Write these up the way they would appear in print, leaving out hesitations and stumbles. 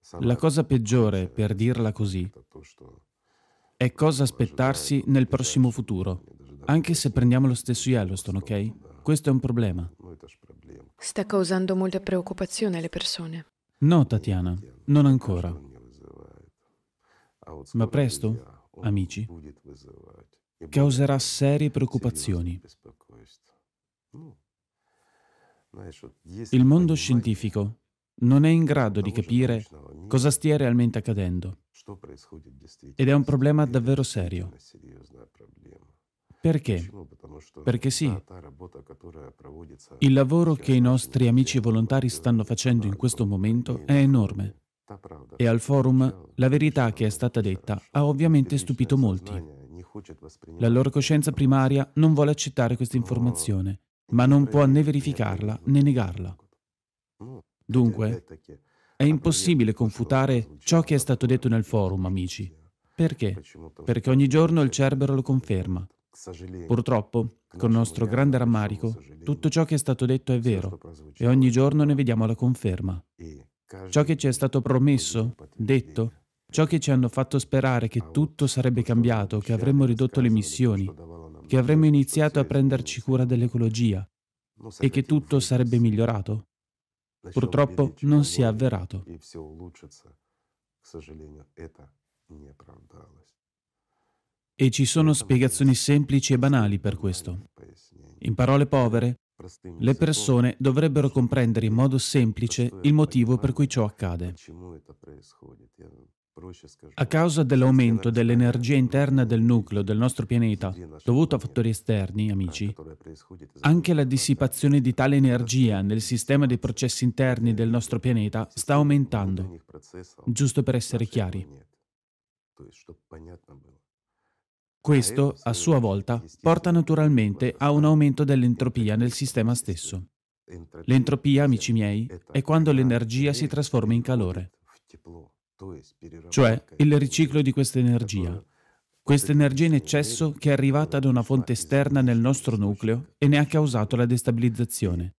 La cosa peggiore, per dirla così, è cosa aspettarsi nel prossimo futuro, anche se prendiamo lo stesso Yellowstone, ok? Questo è un problema. Sta causando molta preoccupazione alle persone. No, Tatiana, non ancora. Ma presto, amici, causerà serie preoccupazioni. Il mondo scientifico non è in grado di capire cosa stia realmente accadendo ed è un problema davvero serio. Perché? Perché sì, il lavoro che i nostri amici volontari stanno facendo in questo momento è enorme e al forum la verità che è stata detta ha ovviamente stupito molti. La loro coscienza primaria non vuole accettare questa informazione, ma non può né verificarla né negarla. Dunque, è impossibile confutare ciò che è stato detto nel forum, amici. Perché? Perché ogni giorno il Cerbero lo conferma. Purtroppo, con nostro grande rammarico, tutto ciò che è stato detto è vero e ogni giorno ne vediamo la conferma. Ciò che ci è stato promesso, detto, ciò che ci hanno fatto sperare che tutto sarebbe cambiato, che avremmo ridotto le emissioni, che avremmo iniziato a prenderci cura dell'ecologia e che tutto sarebbe migliorato, purtroppo non si è avverato. E ci sono spiegazioni semplici e banali per questo. In parole povere, le persone dovrebbero comprendere in modo semplice il motivo per cui ciò accade. A causa dell'aumento dell'energia interna del nucleo del nostro pianeta, dovuto a fattori esterni, amici, anche la dissipazione di tale energia nel sistema dei processi interni del nostro pianeta sta aumentando, giusto per essere chiari. Questo, a sua volta, porta naturalmente a un aumento dell'entropia nel sistema stesso. L'entropia, amici miei, è quando l'energia si trasforma in calore, cioè il riciclo di questa energia. Questa energia in eccesso che è arrivata da una fonte esterna nel nostro nucleo e ne ha causato la destabilizzazione.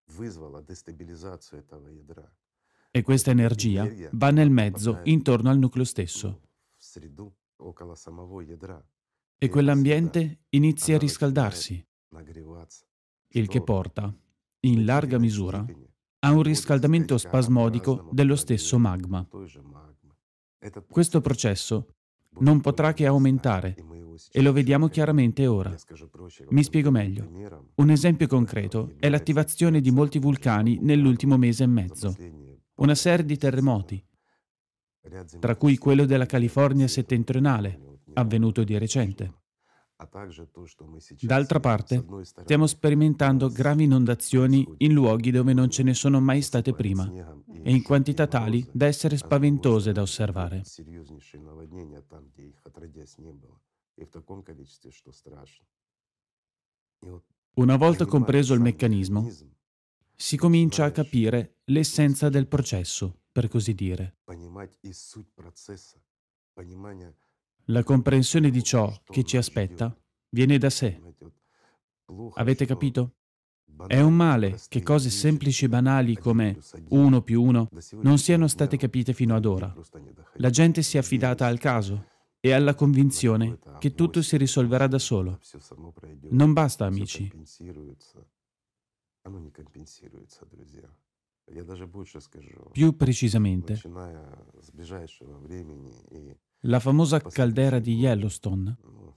E questa energia va nel mezzo, intorno al nucleo stesso. E quell'ambiente inizia a riscaldarsi, il che porta, in larga misura, a un riscaldamento spasmodico dello stesso magma. Questo processo non potrà che aumentare e lo vediamo chiaramente ora. Mi spiego meglio. Un esempio concreto è l'attivazione di molti vulcani nell'ultimo mese e mezzo. Una serie di terremoti, tra cui quello della California settentrionale, avvenuto di recente. D'altra parte, stiamo sperimentando gravi inondazioni in luoghi dove non ce ne sono mai state prima e in quantità tali da essere spaventose da osservare. Una volta compreso il meccanismo, si comincia a capire l'essenza del processo, per così dire. La comprensione di ciò che ci aspetta viene da sé. Avete capito? È un male che cose semplici e banali come 1 più 1 non siano state capite fino ad ora. La gente si è affidata al caso e alla convinzione che tutto si risolverà da solo. Non basta, amici. Più precisamente, la famosa caldera di Yellowstone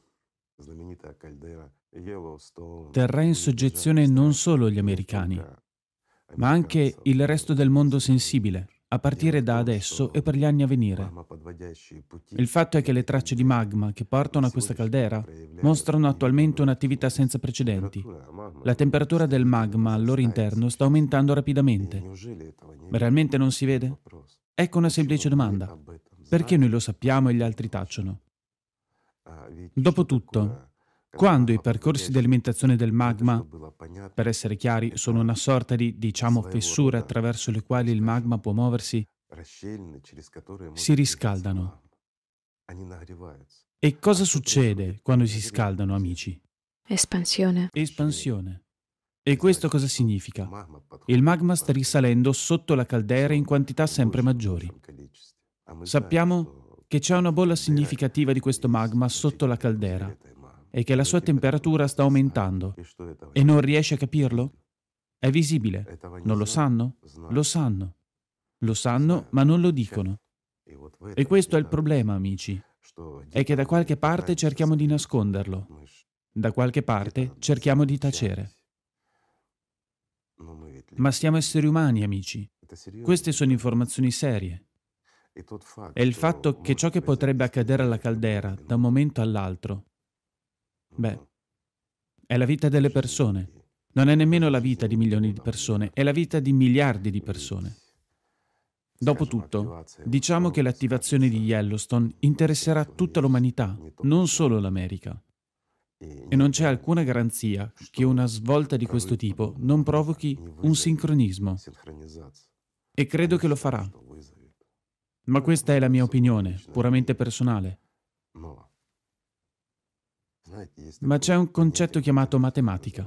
terrà in soggezione non solo gli americani, ma anche il resto del mondo sensibile, a partire da adesso e per gli anni a venire. Il fatto è che le tracce di magma che portano a questa caldera mostrano attualmente un'attività senza precedenti. La temperatura del magma al loro interno sta aumentando rapidamente. Ma realmente non si vede? Ecco una semplice domanda. Perché noi lo sappiamo e gli altri tacciono? Dopotutto, quando i percorsi di alimentazione del magma, per essere chiari, sono una sorta di, fessure attraverso le quali il magma può muoversi, si riscaldano. E cosa succede quando si scaldano, amici? Espansione. Espansione. E questo cosa significa? Il magma sta risalendo sotto la caldera in quantità sempre maggiori. Sappiamo che c'è una bolla significativa di questo magma sotto la caldera e che la sua temperatura sta aumentando. E non riesce a capirlo? È visibile. Non lo sanno? Lo sanno. Lo sanno, ma non lo dicono. E questo è il problema, amici. È che da qualche parte cerchiamo di nasconderlo. Da qualche parte cerchiamo di tacere. Ma siamo esseri umani, amici. Queste sono informazioni serie. E il fatto che ciò che potrebbe accadere alla caldera da un momento all'altro, è la vita delle persone. Non è nemmeno la vita di milioni di persone, è la vita di miliardi di persone. Dopotutto, diciamo che l'attivazione di Yellowstone interesserà tutta l'umanità, non solo l'America. E non c'è alcuna garanzia che una svolta di questo tipo non provochi un sincronismo. E credo che lo farà. Ma questa è la mia opinione, puramente personale. Ma c'è un concetto chiamato matematica.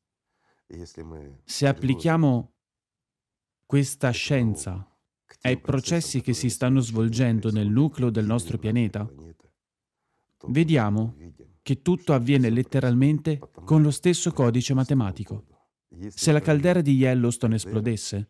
Se applichiamo questa scienza ai processi che si stanno svolgendo nel nucleo del nostro pianeta, vediamo che tutto avviene letteralmente con lo stesso codice matematico. Se la caldera di Yellowstone esplodesse,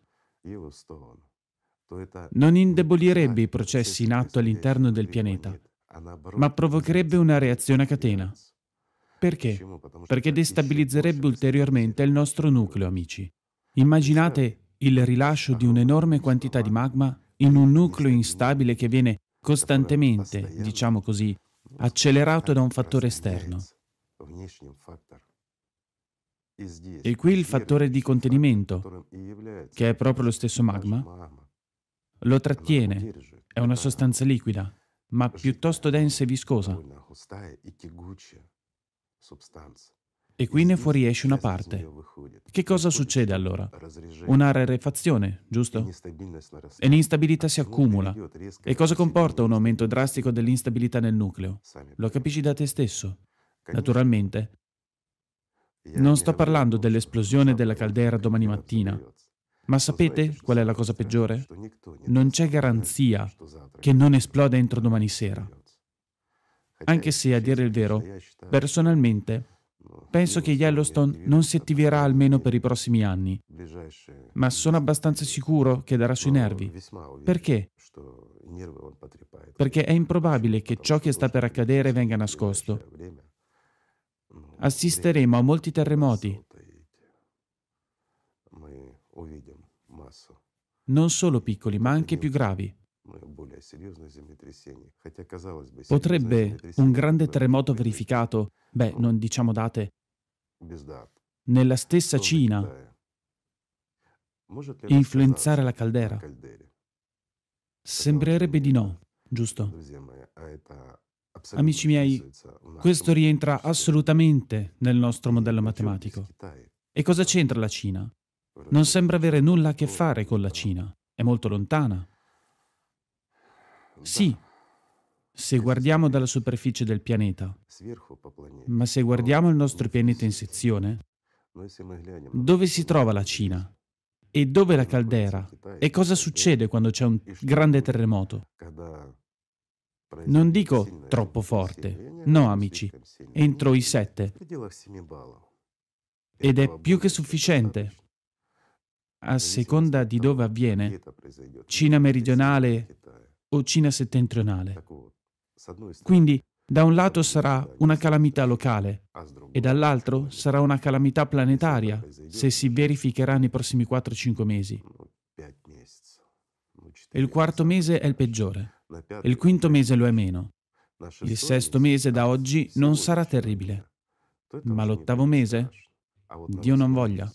non indebolirebbe i processi in atto all'interno del pianeta, ma provocherebbe una reazione a catena. Perché? Perché destabilizzerebbe ulteriormente il nostro nucleo, amici. Immaginate il rilascio di un'enorme quantità di magma in un nucleo instabile che viene costantemente, diciamo così, accelerato da un fattore esterno. E qui il fattore di contenimento, che è proprio lo stesso magma, lo trattiene. È una sostanza liquida, ma piuttosto densa e viscosa. E qui ne fuoriesce una parte. Che cosa succede allora? Una rarefazione, giusto? E l'instabilità si accumula. E cosa comporta un aumento drastico dell'instabilità nel nucleo? Lo capisci da te stesso? Naturalmente. Non sto parlando dell'esplosione della caldera domani mattina. Ma sapete qual è la cosa peggiore? Non c'è garanzia che non esploda entro domani sera. Anche se, a dire il vero, personalmente, penso che Yellowstone non si attiverà almeno per i prossimi anni, ma sono abbastanza sicuro che darà sui nervi. Perché? Perché è improbabile che ciò che sta per accadere venga nascosto. Assisteremo a molti terremoti, non solo piccoli, ma anche più gravi. Potrebbe un grande terremoto verificato, non diciamo date, nella stessa Cina, influenzare la caldera? Sembrerebbe di no, giusto? Amici miei, questo rientra assolutamente nel nostro modello matematico. E cosa c'entra la Cina? Non sembra avere nulla a che fare con la Cina. È molto lontana. Sì, se guardiamo dalla superficie del pianeta, ma se guardiamo il nostro pianeta in sezione, dove si trova la Cina? E dove la caldera? E cosa succede quando c'è un grande terremoto? Non dico troppo forte, no amici, entro i 7. Ed è più che sufficiente. A seconda di dove avviene, Cina meridionale o Cina settentrionale. Quindi, da un lato sarà una calamità locale e dall'altro sarà una calamità planetaria se si verificherà nei prossimi 4-5 mesi. Il quarto mese è il peggiore, il quinto mese lo è meno. Il sesto mese da oggi non sarà terribile, ma l'ottavo mese? Dio non voglia.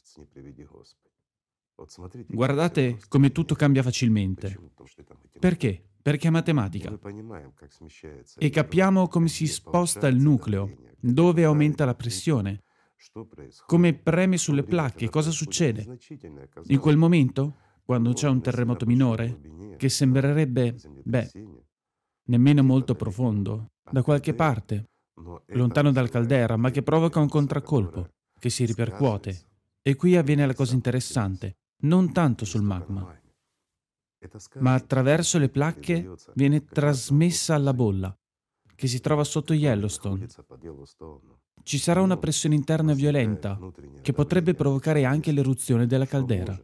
Guardate come tutto cambia facilmente. Perché? Perché è matematica. E capiamo come si sposta il nucleo, dove aumenta la pressione, come preme sulle placche, cosa succede. In quel momento, quando c'è un terremoto minore, che sembrerebbe, nemmeno molto profondo, da qualche parte, lontano dal caldera, ma che provoca un contraccolpo, che si ripercuote. E qui avviene la cosa interessante. Non tanto sul magma, ma attraverso le placche viene trasmessa alla bolla, che si trova sotto Yellowstone. Ci sarà una pressione interna violenta, che potrebbe provocare anche l'eruzione della caldera.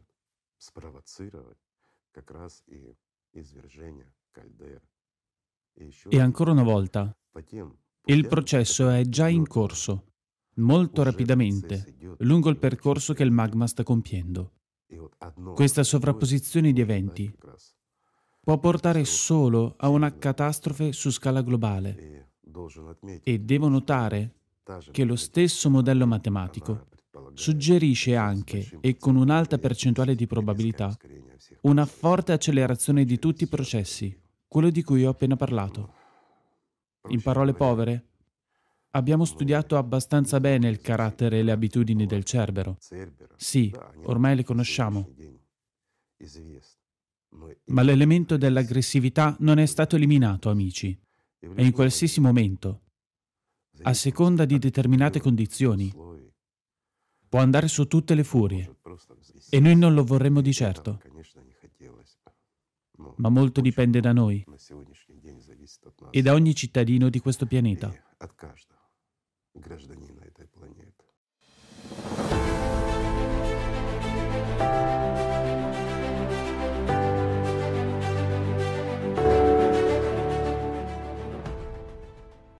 E ancora una volta, il processo è già in corso, molto rapidamente, lungo il percorso che il magma sta compiendo. Questa sovrapposizione di eventi può portare solo a una catastrofe su scala globale. E devo notare che lo stesso modello matematico suggerisce anche, e con un'alta percentuale di probabilità, una forte accelerazione di tutti i processi, quello di cui ho appena parlato. In parole povere, abbiamo studiato abbastanza bene il carattere e le abitudini del Cerbero. Sì, ormai le conosciamo. Ma l'elemento dell'aggressività non è stato eliminato, amici. E in qualsiasi momento, a seconda di determinate condizioni, può andare su tutte le furie. E noi non lo vorremmo di certo. Ma molto dipende da noi e da ogni cittadino di questo pianeta.